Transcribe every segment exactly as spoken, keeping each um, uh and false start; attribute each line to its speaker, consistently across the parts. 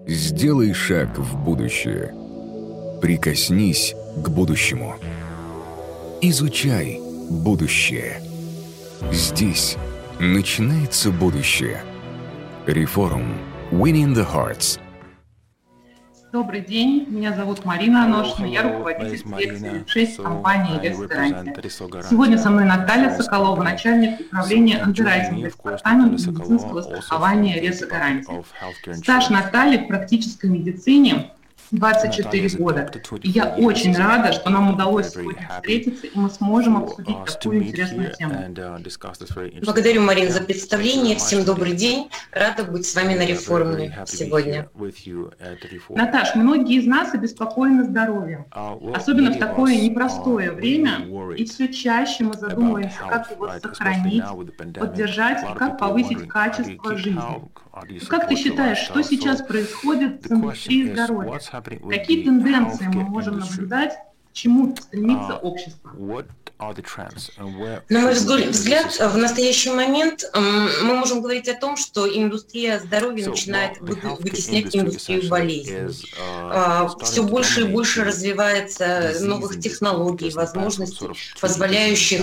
Speaker 1: Сделай шаг в будущее. Прикоснись к будущему. Изучай будущее. Здесь начинается будущее. Реформ. Winning the Hearts.
Speaker 2: Добрый день, меня зовут Марина Аношина, я руководитель секции шесть компании «Ресгарантия». Сегодня со мной Наталья Соколова, начальник управления андеррайтинга департамента медицинского страхования «Ресгарантия». Стаж Натальи в практической медицине двадцать четыре года. И я очень рада, что нам удалось сегодня встретиться, и мы сможем обсудить такую интересную тему.
Speaker 3: Благодарю, Марин, за представление. Всем добрый день. Рада быть с вами на реформе сегодня.
Speaker 2: Наташ, многие из нас обеспокоены здоровьем, особенно в такое непростое время, и все чаще мы задумываемся, как его сохранить, поддержать и как повысить качество жизни. Как ты считаешь, что сейчас происходит с индустрией здоровья? Какие тенденции мы можем наблюдать, к чему стремится общество?
Speaker 3: На мой взгляд, в настоящий момент мы можем говорить о том, что индустрия здоровья начинает вытеснять индустрию болезней. Все больше и больше развивается новых технологий, возможностей, позволяющих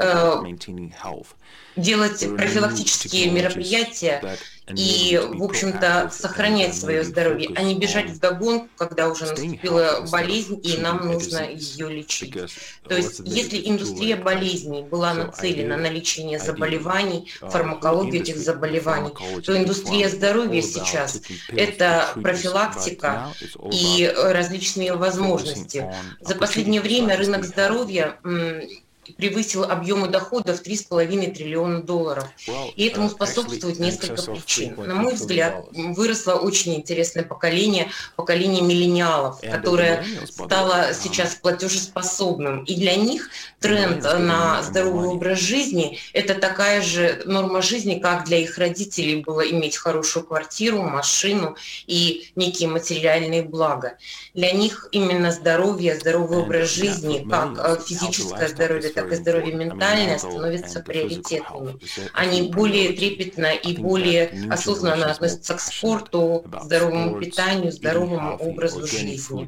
Speaker 3: делать профилактические мероприятия и, в общем-то, сохранять свое здоровье, а не бежать вдогонку, когда уже наступила болезнь, и нам нужно ее лечить. То есть, если индустрия болезней была нацелена на лечение заболеваний, фармакологию этих заболеваний, то индустрия здоровья сейчас – это профилактика и различные возможности. За последнее время рынок здоровья превысил объемы доходов в три с половиной триллиона долларов. И этому способствует несколько причин. На мой взгляд, выросло очень интересное поколение, поколение миллениалов, которое стало сейчас платежеспособным. И для них тренд на здоровый образ жизни – это такая же норма жизни, как для их родителей было иметь хорошую квартиру, машину и некие материальные блага. Для них именно здоровье, здоровый образ жизни, как физическое здоровье, так и здоровье ментальное становятся приоритетными. Они более трепетно и более осознанно относятся к спорту, к здоровому питанию, здоровому образу жизни.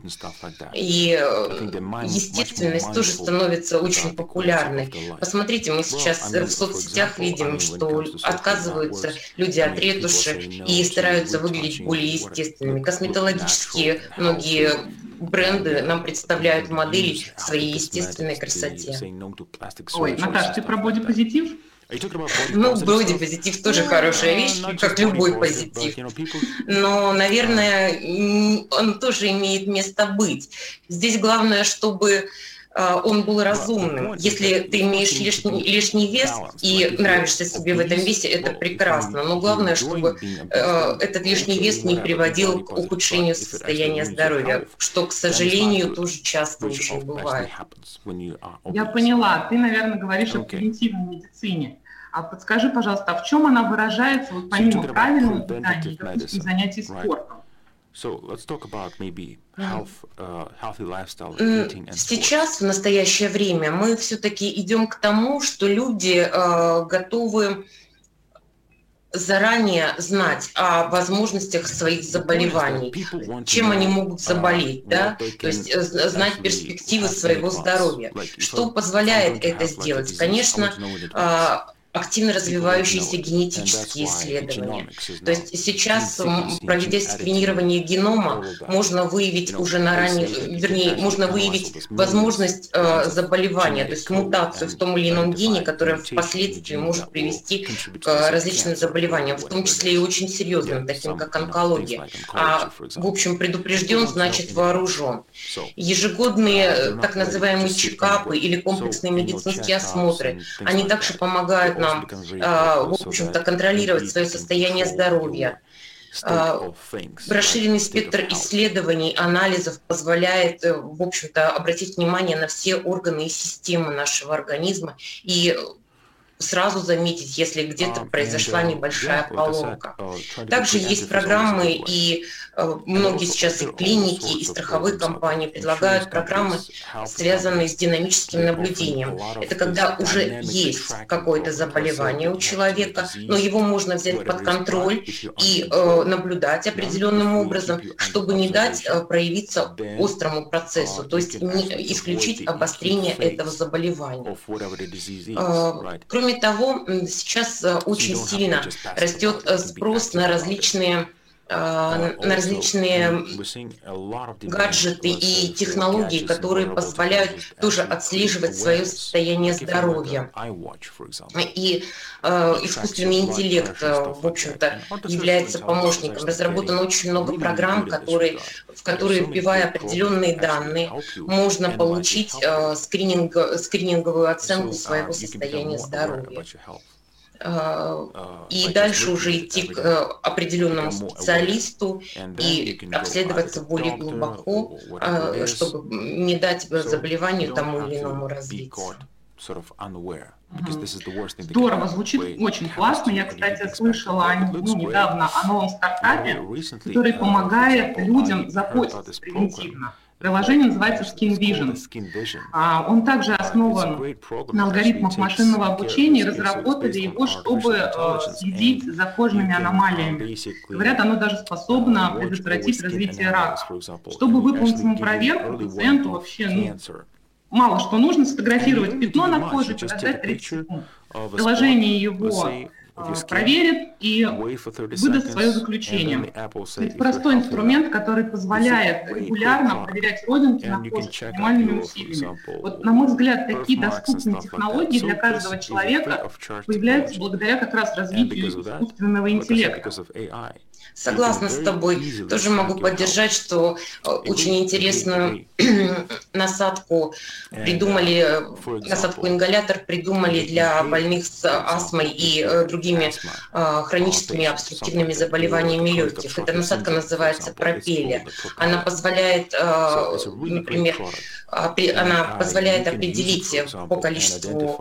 Speaker 3: И естественность тоже становится очень популярной. Посмотрите, мы сейчас в соцсетях видим, что отказываются люди от ретуши и стараются выглядеть более естественными. Косметологические многие бренды нам представляют модели в своей естественной красоте.
Speaker 2: Ой, Наташа, ты про бодипозитив?
Speaker 3: Ну, бодипозитив тоже хорошая вещь, как любой позитив. Но, наверное, он тоже имеет место быть. Здесь главное, чтобы он был разумным. Если ты имеешь лишний, лишний вес и нравишься себе в этом весе, это прекрасно. Но главное, чтобы э, этот лишний вес не приводил к ухудшению состояния здоровья, что, к сожалению, тоже часто очень бывает.
Speaker 2: Я поняла. Ты, наверное, говоришь о превентивной медицине. А подскажи, пожалуйста, а в чем она выражается, вот помимо правильного питания, допустим, занятий спортом?
Speaker 3: Сейчас, в настоящее время, мы все-таки идем к тому, что люди э, готовы заранее знать о возможностях своих заболеваний, чем они могут заболеть, да? То есть знать перспективы своего здоровья. Что позволяет это сделать? Конечно, э, активно развивающиеся генетические исследования. То есть сейчас, проведя скринирование генома, можно выявить уже на ранних, вернее, можно выявить возможность э, заболевания, то есть мутацию в том или ином гене, которая впоследствии может привести к различным заболеваниям, в том числе и очень серьезным, таким как онкология. А, в общем, предупрежден, значит вооружен. Ежегодные так называемые чекапы или комплексные медицинские осмотры, они также помогают нам в общем-то, контролировать свое состояние здоровья. Расширенный спектр исследований, анализов позволяет, в общем-то, обратить внимание на все органы и системы нашего организма и сразу заметить, если где-то произошла небольшая поломка. Также есть программы и Многие сейчас и клиники, и страховые компании предлагают программы, связанные с динамическим наблюдением. Это когда уже есть какое-то заболевание у человека, но его можно взять под контроль и э, наблюдать определенным образом, чтобы не дать э, проявиться острому процессу, то есть не исключить обострение этого заболевания. Э, кроме того, сейчас э, очень сильно растет э, спрос на различные на различные гаджеты и технологии, которые позволяют тоже отслеживать свое состояние здоровья. И э, искусственный интеллект, в общем-то, является помощником. Разработано очень много программ, которые, в которые, вбивая определенные данные, можно получить э, скрининг, скрининговую оценку своего состояния здоровья. И дальше уже идти к определенному специалисту и обследоваться более глубоко, чтобы не дать заболеванию тому или иному развиться.
Speaker 2: Здорово, звучит очень классно. Я, кстати, слышала ну, недавно о новом стартапе, который помогает людям заботиться превентивно. Приложение называется Skin Vision. Он также основан на алгоритмах машинного обучения, разработали его, чтобы следить за кожными аномалиями. Говорят, оно даже способно предотвратить развитие рака. Чтобы выполнить ему проверку, пациенту вообще ну, мало что нужно, сфотографировать пятно на коже, подождать тридцать секунд. Приложение его проверит и выдаст свое заключение. Это простой инструмент, который позволяет регулярно проверять родинки на коже с минимальными усилиями. Вот, на мой взгляд, такие доступные технологии для каждого человека появляются благодаря как раз развитию искусственного интеллекта.
Speaker 3: Согласна с тобой. Тоже могу поддержать, что очень интересную насадку придумали, насадку ингалятор придумали для больных с астмой и другими хроническими обструктивными заболеваниями легких. Эта насадка называется пропеллер. Она позволяет, например, она позволяет определить по количеству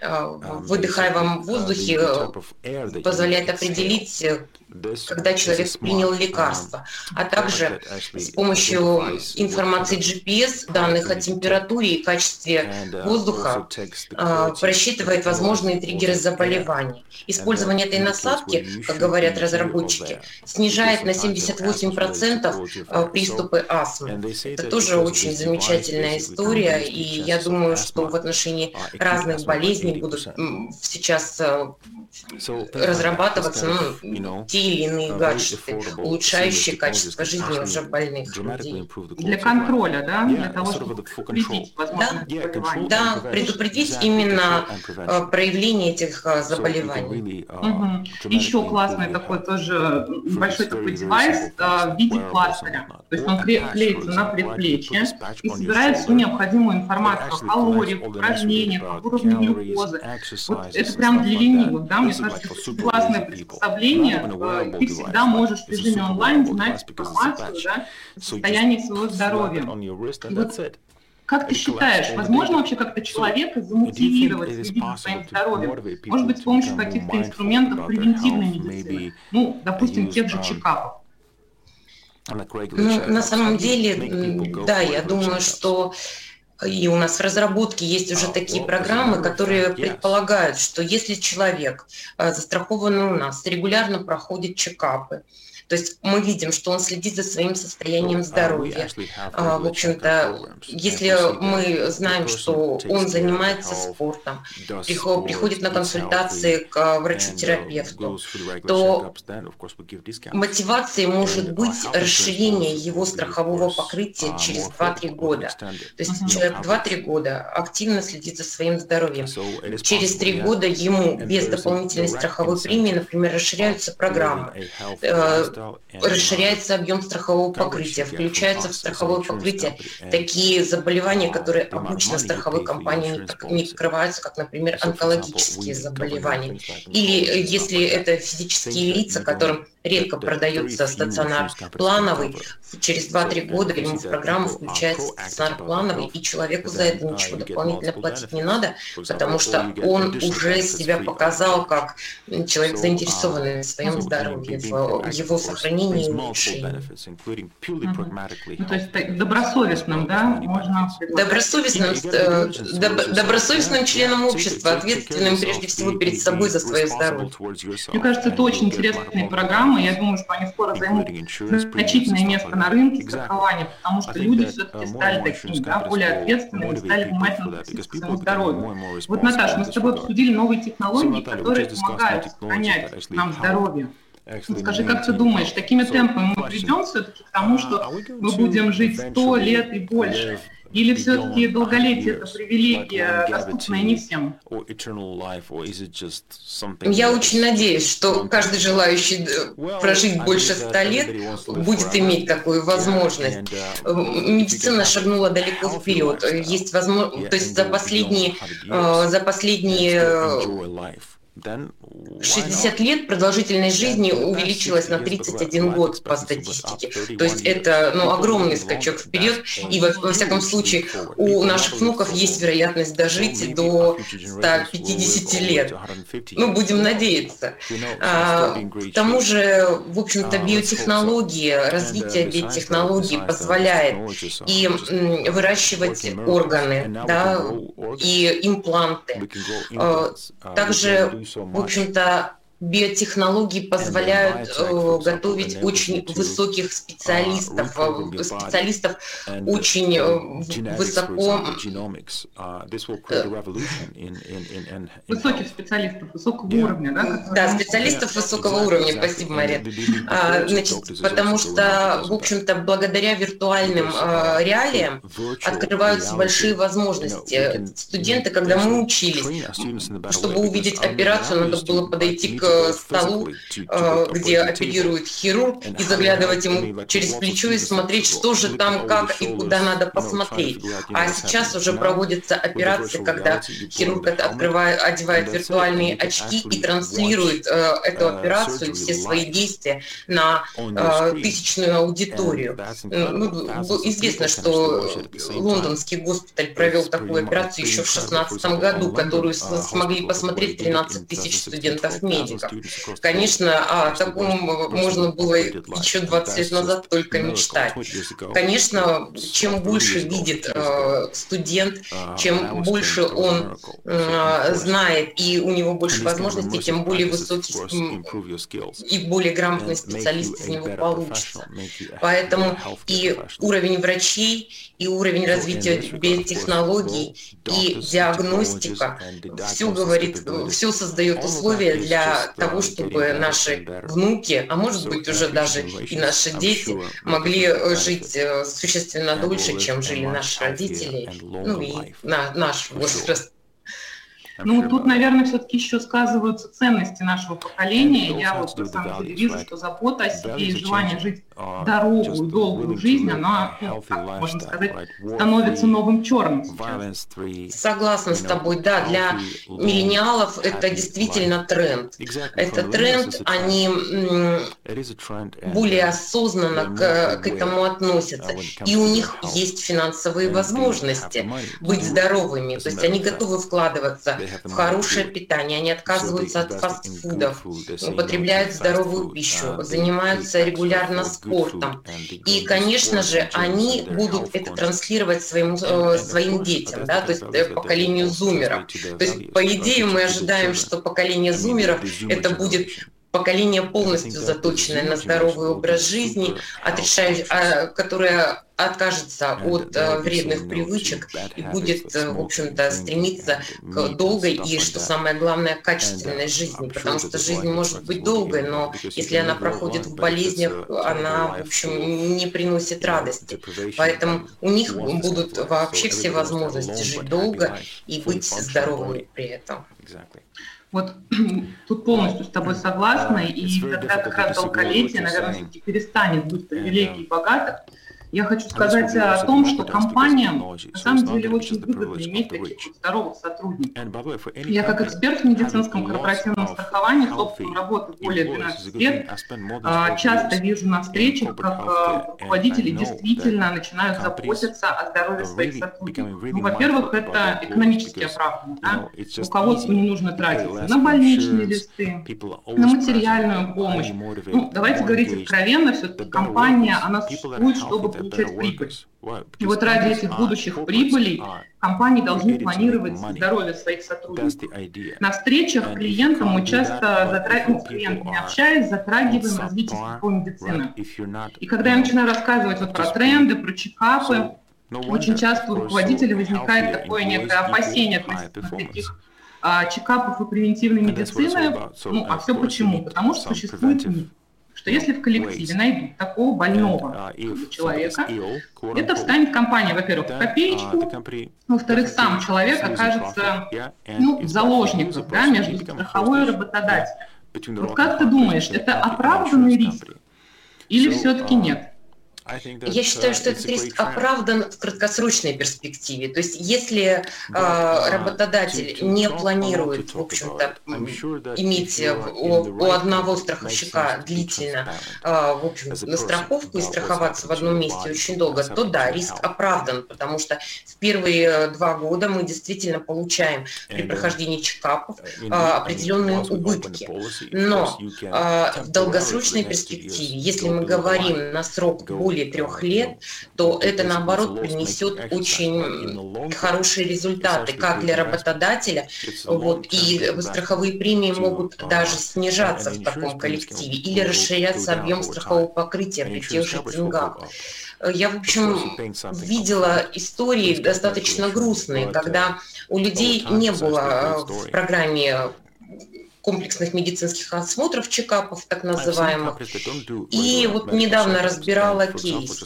Speaker 3: выдыхаемом воздухе, позволяет определить, когда человек принял лекарство, а также с помощью информации джи пи эс, данных о температуре и качестве воздуха, просчитывает возможные триггеры заболеваний. Использование этой насадки, как говорят разработчики, снижает на семьдесят восемь процентов приступы астмы. Это тоже очень замечательная история, и я думаю, что в отношении разных болезней будут сейчас разрабатываться ну, те или иные гаджеты, улучшающие качество жизни уже больных людей.
Speaker 2: Для контроля, да? Для того, чтобы предупредить возможные заболевания.
Speaker 3: Да, предупредить именно проявление этих заболеваний.
Speaker 2: Угу. Еще классный такой тоже большой такой девайс в виде пластыря. То есть он клеится на предплечье и собирает всю необходимую информацию о калориях, упражнениях, о уровне глюкозы. Вот это прям для ленивых, да? Мне кажется, это классное приспособление. Ты всегда можешь в режиме онлайн знать информацию, да, о состоянии своего здоровья. Вот, как ты считаешь, возможно вообще как-то человека замотивировать следить за своим здоровьем? Может быть, с помощью каких-то инструментов превентивной медицины? Ну, допустим, тех же чекапов.
Speaker 3: Ну, на самом деле, да, я думаю, что и у нас в разработке есть уже такие программы, которые предполагают, что если человек, застрахованный у нас, регулярно проходит чекапы, то есть мы видим, что он следит за своим состоянием здоровья. В общем-то, если мы знаем, что он занимается спортом, приходит на консультации к врачу-терапевту, то мотивацией может быть расширение его страхового покрытия через два-три года. То есть человек два-три года активно следит за своим здоровьем. Через три года ему без дополнительной страховой премии, например, расширяются программы, расширяется объем страхового покрытия, включаются в страховое покрытие такие заболевания, которые обычно страховой компанией не покрываются, как, например, онкологические заболевания. Или если это физические лица, которым редко продается стационар плановый. Через два-три года ему в программу включается стационар плановый, и человеку за это ничего дополнительно платить не надо, потому что он уже себя показал как человек, заинтересованный в своем здоровье, в его сохранении и улучшении.
Speaker 2: Ну, то есть добросовестным, да, можно...
Speaker 3: Добросовестным, э, доб, добросовестным членом общества, ответственным прежде всего перед собой за свое здоровье.
Speaker 2: Мне кажется, это очень интересные программы. Я думаю, что они скоро займут значительное место на рынке страхования, потому что люди все-таки стали такими, да, более ответственными, стали внимательно относиться к своему здоровью. Вот, Наташа, мы с тобой обсудили новые технологии, которые помогают сохранять нам здоровье. Ну, скажи, как ты думаешь, такими темпами мы придем все-таки к тому, что мы будем жить сто лет и больше? Или все-таки долголетие – это привилегия, доступная не всем?
Speaker 3: Я очень надеюсь, что каждый желающий прожить больше ста лет будет иметь такую возможность. Медицина шагнула далеко вперед. Есть возможность, то есть за последние, за последние шестьдесят лет продолжительность жизни увеличилась на тридцать один год по статистике. То есть это, ну, огромный скачок вперед. И во, во всяком случае у наших внуков есть вероятность дожить до ста пятидесяти лет. Ну, будем надеяться. А, к тому же, в общем-то, биотехнологии, развитие биотехнологий позволяет и м, выращивать органы, да, и импланты. А, также, в общем-то, биотехнологии позволяют э, готовить очень высоких специалистов, э, специалистов очень э, высоко...
Speaker 2: Э, высоких специалистов, высокого уровня, да?
Speaker 3: Да, специалистов высокого уровня, спасибо, Мария. А, значит, потому что, в общем-то, благодаря виртуальным э, реалиям открываются большие возможности. Студенты, когда мы учились, чтобы увидеть операцию, надо было подойти к столу, где оперирует хирург, и заглядывать ему через плечо и смотреть, что же там, как и куда надо посмотреть. А сейчас уже проводятся операции, когда хирург открывает, одевает виртуальные очки и транслирует э, эту операцию, все свои действия на э, тысячную аудиторию. Ну, известно, что лондонский госпиталь провел такую операцию еще в шестнадцатом году, которую смогли посмотреть тринадцать тысяч студентов-медиков. Конечно, о таком можно было еще двадцать лет назад только мечтать. Конечно, чем больше видит э, студент, чем больше он э, знает и у него больше возможностей, тем более высокий и более грамотный специалист из него получится. Поэтому и уровень врачей, и уровень развития биотехнологий, и диагностика, все говорит, все создает условия для того, чтобы наши внуки, а может быть уже даже и наши дети, могли жить существенно дольше, чем жили наши родители, ну и на наш возраст.
Speaker 2: Ну, тут, наверное, все-таки еще сказываются ценности нашего поколения. Я вот на самом деле вижу, что забота о себе и желание жить здоровую, долгую жизнь, она, ну, как можно сказать, становится новым черным сейчас.
Speaker 3: Согласна с тобой, да, для миллениалов это действительно тренд. Это тренд, они более осознанно к, к этому относятся. И у них есть финансовые возможности быть здоровыми. То есть они готовы вкладываться в хорошее питание, они отказываются от фастфудов, употребляют здоровую пищу, занимаются регулярно спортом. И, конечно же, они будут это транслировать своим, э, своим детям, да, то есть э, поколению зумеров. То есть, по идее, мы ожидаем, что поколение зумеров это будет поколение полностью заточенное на здоровый образ жизни, отрешающее, которое откажется от э, вредных привычек и будет, э, в общем-то, стремиться к долгой и, что самое главное, качественной жизни, потому что жизнь может быть долгой, но если она проходит в болезнях, она, в общем, не приносит радости. Поэтому у них будут вообще все возможности жить долго и быть здоровыми при этом.
Speaker 2: Вот тут полностью с тобой согласна, и тогда как раз долголетие, наверное, все-таки перестанет быть привилегией богатых, Я хочу сказать о том, что компаниям на самом деле очень выгодно иметь таких вот здоровых сотрудников. Я как эксперт в медицинском корпоративном страховании, с опытом работы более двенадцати лет, часто вижу на встречах, как руководители действительно начинают заботиться о здоровье своих сотрудников. Ну, во-первых, это экономически оправданно. Да? Руководству не нужно тратиться на больничные листы, на материальную помощь. Ну, давайте говорить откровенно, все-таки компания, она существует, чтобы получать прибыль. И вот ради этих будущих прибылей компании должны планировать здоровье своих сотрудников. На встречах клиентам мы часто затрагиваем, с клиентами общаясь, затрагиваем развитие сетевой медицины. И когда я начинаю рассказывать вот про тренды, про чекапы, очень часто у руководителей возникает такое некое опасение относительно таких а, чекапов и превентивной медицины. Ну, а все почему? Потому что существует миф, что если в коллективе найдут такого больного человека, это встанет компания, во-первых, в копеечку, во-вторых, сам человек окажется ну, в заложниках, да, между страховой и работодателем. Вот как ты думаешь, это оправданный риск или все-таки нет?
Speaker 3: Я считаю, что этот риск оправдан в краткосрочной перспективе. То есть, если э, работодатель не планирует, в общем-то, иметь у, у одного страховщика длительно, э, в общем, на страховку и страховаться в одном месте очень долго, то да, риск оправдан, потому что в первые два года мы действительно получаем при прохождении чекапов э, определенные убытки. Но э, в долгосрочной перспективе, если мы говорим на срок более трех лет, то это, наоборот, принесет очень хорошие результаты как для работодателя, вот, и страховые премии могут даже снижаться в таком коллективе или расширяться объем страхового покрытия при тех же деньгах. Я, в общем, видела истории достаточно грустные, когда у людей не было в программе комплексных медицинских осмотров, чекапов, так называемых. И вот недавно разбирала кейс.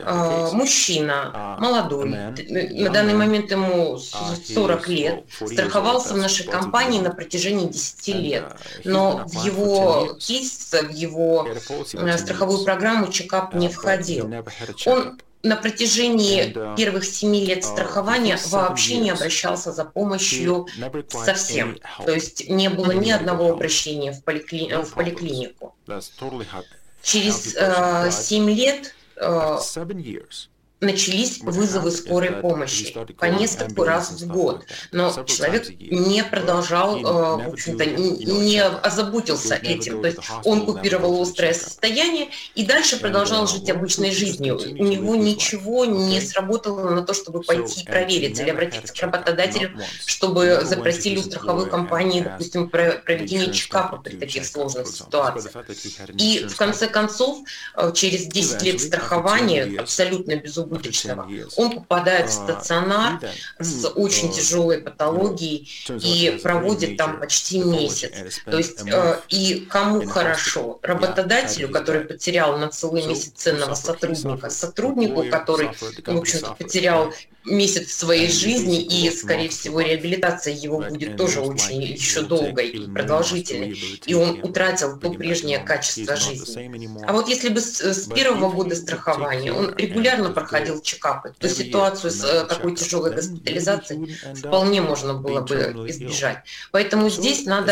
Speaker 3: Мужчина, молодой, на данный момент ему сорок лет, страховался в нашей компании на протяжении десяти лет. Но в его кейс, в его страховую программу чекап не входил. Он на протяжении первых семи лет страхования вообще не обращался за помощью совсем. То есть не было ни одного обращения в, поликли... в поликлинику. Через э, семь лет э, начались вызовы скорой помощи по нескольку раз в год. Но человек не продолжал, в общем-то, не озаботился этим. То есть он купировал острое состояние и дальше продолжал жить обычной жизнью. У него ничего не сработало на то, чтобы пойти и проверить или обратиться к работодателю, чтобы запросили у страховой компании, допустим, проведение чекапа при таких сложных ситуациях. И в конце концов, через десять лет страхования, абсолютно безубыточного, он попадает в стационар с очень тяжелой патологией и проводит там почти месяц. То есть э, и кому хорошо? Работодателю, который потерял на целый месяц ценного сотрудника, сотруднику, который, в общем-то, потерял месяц своей жизни, и, скорее всего, реабилитация его будет тоже очень еще долгой и продолжительной, и он утратил то прежнее качество жизни. А вот если бы с, с первого года страхования он регулярно проходил чекапы, то ситуацию с такой тяжелой госпитализацией вполне можно было бы избежать. Поэтому здесь надо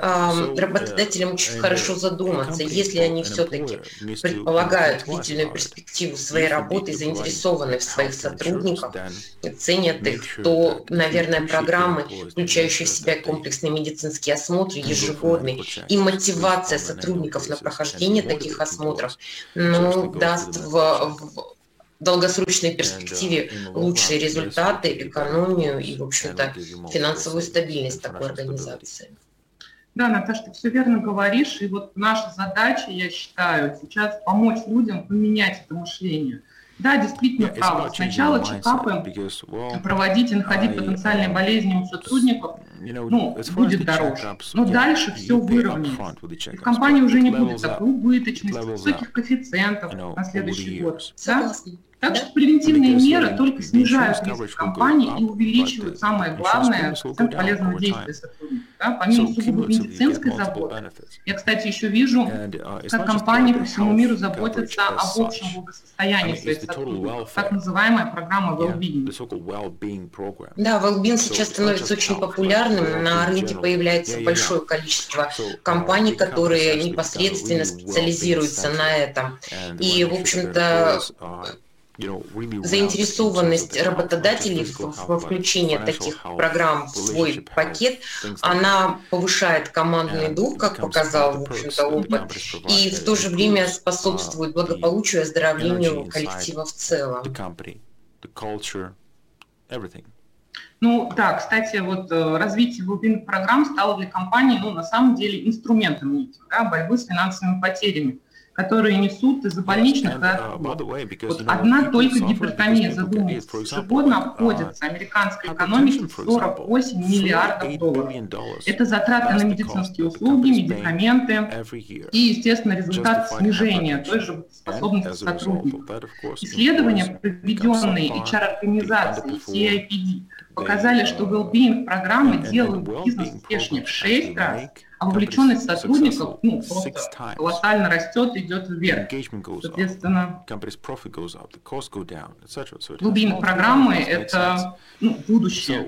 Speaker 3: э, работодателям очень хорошо задуматься, если они все-таки предполагают длительную перспективу своей работы и заинтересованы в своих сотрудниках, ценят их, то, наверное, программы, включающие в себя комплексные медицинские осмотры, ежегодные, и мотивация сотрудников на прохождение таких осмотров, ну, даст в, в долгосрочной перспективе лучшие результаты, экономию и, в общем-то, финансовую стабильность такой организации.
Speaker 2: Да, Наташа, ты все верно говоришь, и вот наша задача, я считаю, сейчас помочь людям поменять это мышление. Да, действительно правы. Сначала чекапы проводить и находить потенциальные болезни у сотрудников, ну, будет дороже. Но дальше все выровняется. И в компании уже не будет такой убыточности, высоких коэффициентов на следующий год. Да? Так что превентивные меры только снижают риск компании и увеличивают, самое главное, коэффициент полезного действия сотрудников. Да? Помимо сугубо медицинской заботы, я, кстати, еще вижу, как компании по всему миру заботятся об общем благосостоянии своих сотрудников, так называемая программа well-being.
Speaker 3: Да, well-being сейчас становится очень популярным, на рынке появляется большое количество компаний, которые непосредственно специализируются на этом. И, в общем-то, заинтересованность работодателей во включении таких программ в свой пакет, она повышает командный дух, как показал, в общем-то, опыт, и в то же время способствует благополучию и оздоровлению коллектива в целом.
Speaker 2: Ну да, кстати, вот развитие глубинных программ стало для компании, ну, на самом деле, инструментом этим, да, борьбы с финансовыми потерями, которые несут из-за больничных. Да, вот одна только гипертония, задумается, ежегодно обходится американской экономике в сорок восемь миллиардов долларов. Это затраты на медицинские услуги, медикаменты и, естественно, результат снижения той же способности сотрудников. Исследования, проведенные эйч ар-организацией си ай пи ди, показали, что well-being программы делают бизнес успешнее в шесть раз, а вовлеченность сотрудников, ну, просто колоссально растет и идет вверх. Соответственно, well-being программы – это, ну, будущее.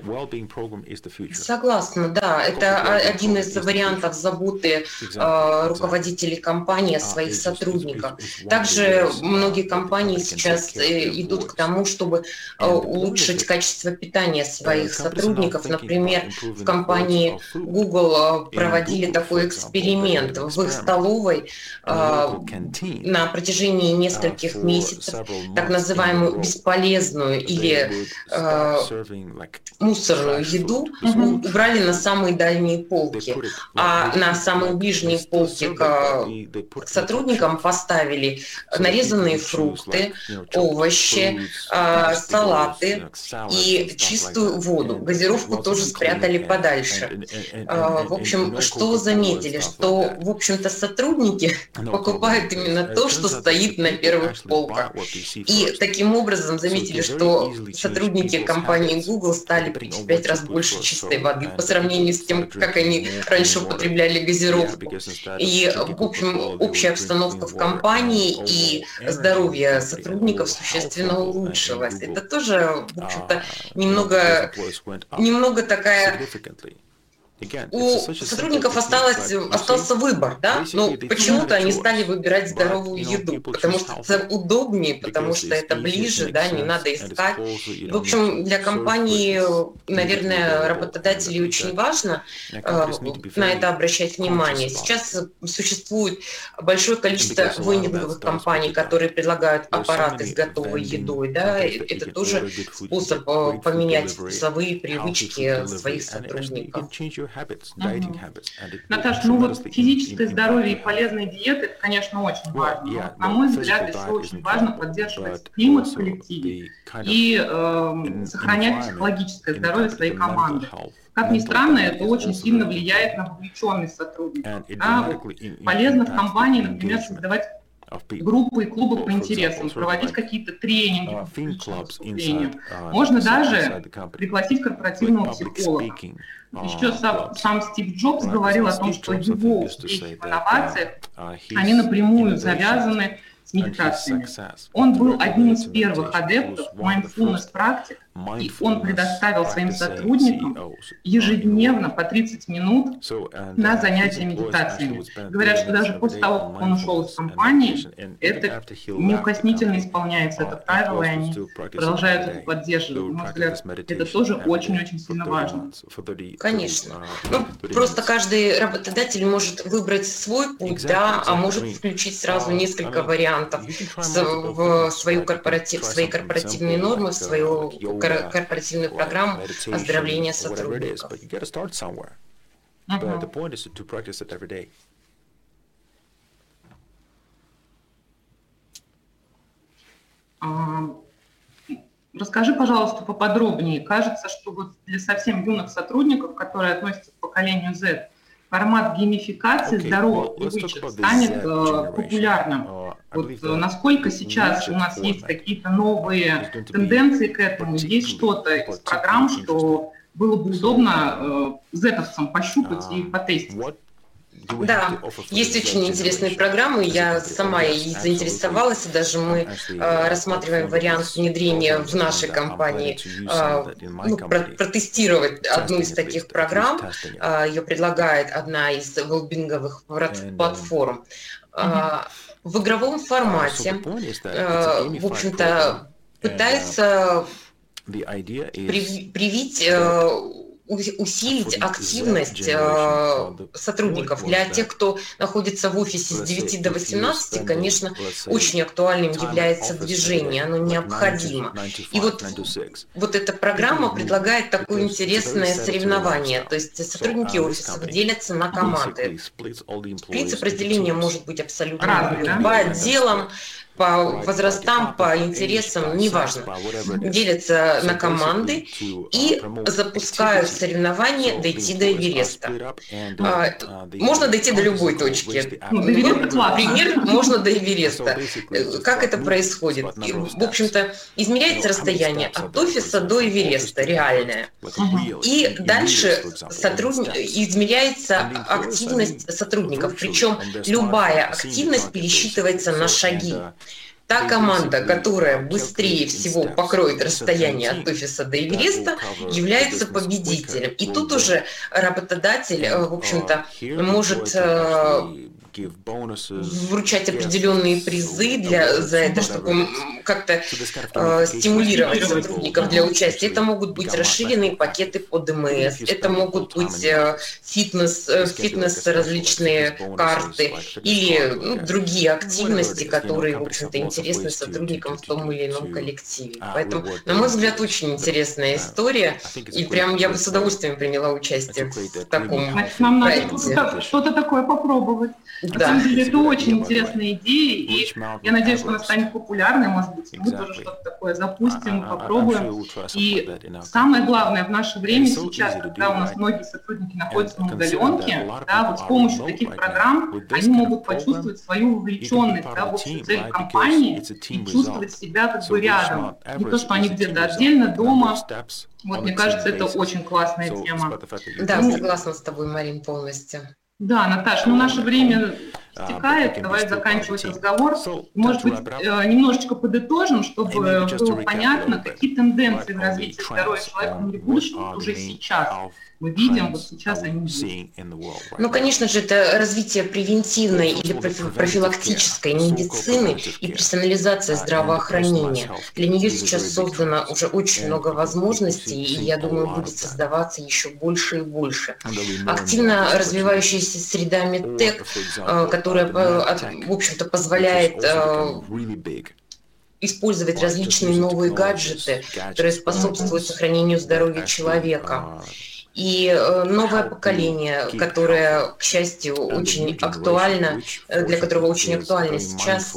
Speaker 3: Согласна, да. Это один из вариантов заботы э, руководителей компании о своих сотрудниках. Также многие компании сейчас э, идут к тому, чтобы э, улучшить качество питания своих сотрудников. Например, в компании Google э, проводили такой эксперимент в их столовой э, на протяжении нескольких месяцев, так называемую бесполезную или э, мусорную еду mm-hmm. убрали на самые дальние полки, а на самые ближние полки к сотрудникам поставили нарезанные фрукты, овощи, э, салаты и чистую воду. Газировку тоже спрятали подальше. Э, в общем, что заметили, что, в общем-то, сотрудники покупают именно то, что стоит на первых полках. И таким образом заметили, что сотрудники компании Google стали пить в пять раз больше чистой воды по сравнению с тем, как они раньше употребляли газировку. И, в общем, общая обстановка в компании и здоровье сотрудников существенно улучшилось. Это тоже, в общем-то, немного, немного такая... У сотрудников осталось, остался выбор, да? Но почему-то они стали выбирать здоровую еду, потому что это удобнее, потому что это ближе, да, не надо искать. В общем, для компании, наверное, работодателей очень важно э, на это обращать внимание. Сейчас существует большое количество вендинговых компаний, которые предлагают аппараты с готовой едой, да? Это тоже способ э, поменять вкусовые привычки своих сотрудников.
Speaker 2: Угу. Наташа, ну вот физическое здоровье и полезные диеты, это, конечно, очень важно. Но, на мой взгляд, еще очень важно поддерживать климат в коллективе и э, сохранять психологическое здоровье своей команды. Как ни странно, это очень сильно влияет на вовлеченность сотрудников. Да? Вот полезно в компании, например, создавать группы и клубы по интересам, проводить какие-то тренинги по публичному выступлению. Можно даже пригласить корпоративного психолога. Еще сам, сам Стив Джобс говорил о том, что его успехи в инновациях, они напрямую завязаны с медитациями. Он был одним из первых адептов mindfulness практик, и он предоставил своим сотрудникам ежедневно по тридцать минут на занятия медитациями. Говорят, что даже после того, как он ушел из компании, это неукоснительно исполняется, это правило, и они продолжают это поддерживать. На мой взгляд, это тоже очень-очень сильно важно.
Speaker 3: Конечно. Ну, просто каждый работодатель может выбрать свой путь, да, а может включить сразу несколько вариантов в свою корпоратив, свои корпоративные нормы, в свою корпоративную программу оздоровления сотрудников.
Speaker 2: Uh-huh. Расскажи, пожалуйста, поподробнее. Кажется, что вот для совсем юных сотрудников, которые относятся к поколению Z, формат геймификации okay. здоровых well, привычек станет uh, популярным. Uh, вот, uh, насколько сейчас у нас есть какие-то новые тенденции к этому? Есть что-то из программ, что было бы удобно э, зетовцам пощупать и потестить.
Speaker 3: Да, есть очень интересные программы, я сама и заинтересовалась, и даже мы э, рассматриваем вариант внедрения в нашей компании, э, ну, про протестировать одну из таких программ, э, ее предлагает одна из велбинговых платформ. Э, в игровом формате, э, в общем-то, пытается привить... Э, усилить активность э, сотрудников. Для тех, кто находится в офисе с девяти до восемнадцати, конечно, очень актуальным является движение, оно необходимо. И вот, вот эта программа предлагает такое интересное соревнование, то есть сотрудники офисов делятся на команды. Принцип разделения может быть абсолютно любым, по отделам, по возрастам, по интересам, неважно, делятся на команды и запускают соревнования «Дойти до Эвереста». Можно дойти до любой точки. Например, можно до Эвереста. Как это происходит? В общем-то, измеряется расстояние от офиса до Эвереста, реальное. И дальше сотруд... измеряется активность сотрудников, причем любая активность пересчитывается на шаги. Та команда, которая быстрее всего покроет расстояние от офиса до Эвереста, является победителем. И тут уже работодатель, в общем-то, может вручать определенные призы для, за это, чтобы как-то э, стимулировать сотрудников для участия. Это могут быть расширенные пакеты по ДМС, это могут быть э, фитнес, э, фитнес различные карты или ну, другие активности, которые, в общем-то, интересны сотрудникам в том или ином коллективе. Поэтому, на мой взгляд, очень интересная история, и прям я бы с удовольствием приняла участие в таком
Speaker 2: Значит, нам надо что-то, что-то такое попробовать. На
Speaker 3: Да.
Speaker 2: самом деле это очень интересная идея, и я надеюсь, что она станет популярной, может быть, мы тоже что-то такое запустим, попробуем. И самое главное в наше время сейчас, когда у нас многие сотрудники находятся на удаленке, да, вот с помощью таких программ они могут почувствовать свою вовлеченность, да, в общую цель компании и чувствовать себя как бы рядом. Не то, что они где-то отдельно, дома. Вот, мне кажется, это очень классная тема.
Speaker 3: Да, согласна с тобой, Марин, полностью.
Speaker 2: Да, Наташа, ну наше время стекает, давай заканчивать разговор. Может быть, немножечко подытожим, чтобы было понятно, какие тенденции в развитии здоровья человека в мире будущего уже сейчас мы видим, вот сейчас они есть.
Speaker 3: Ну, конечно же, это развитие превентивной или профилактической медицины и персонализация здравоохранения. Для нее сейчас создано уже очень много возможностей, и, я думаю, будет создаваться еще больше и больше. Активно развивающаяся среда медтек, которая, в общем-то, позволяет использовать различные новые гаджеты, которые способствуют сохранению здоровья человека. И новое поколение, которое, к счастью, очень актуально, для которого очень актуально сейчас,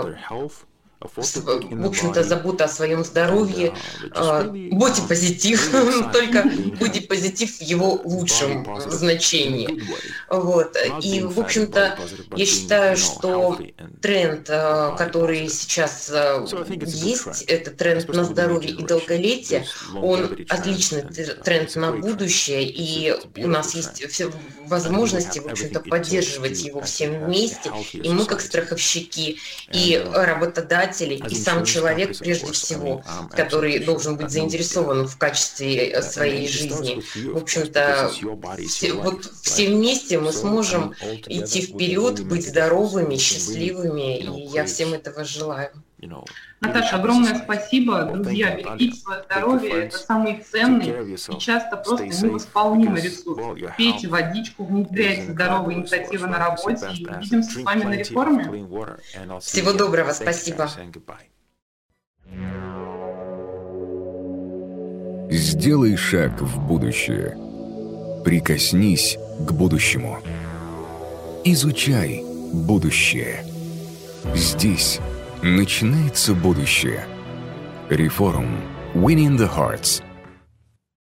Speaker 3: в общем-то, забота о своем здоровье, бодипозитив, только бодипозитив в его лучшем значении. Вот. И, в общем-то, я считаю, что тренд, который сейчас есть, это тренд на здоровье и долголетие, он отличный тренд на будущее, и у нас есть все возможности, в общем-то, поддерживать его всем вместе, и мы, как страховщики, и работодатели, и сам человек, прежде всего, который должен быть заинтересован в качестве своей жизни. В общем-то, все, вот все вместе мы сможем идти вперед, быть здоровыми, счастливыми, и я всем этого желаю.
Speaker 2: Наташа, огромное спасибо. Друзья, берегите свое здоровье, это самый ценный и часто просто невосполнимый ресурс. Пейте водичку, внедряйте здоровые инициативы на работе, и увидимся с вами на реформе.
Speaker 3: Всего доброго, спасибо.
Speaker 1: Сделай шаг в будущее. Прикоснись к будущему. Изучай будущее. Здесь начинается будущее. Reforum. Winning the Hearts.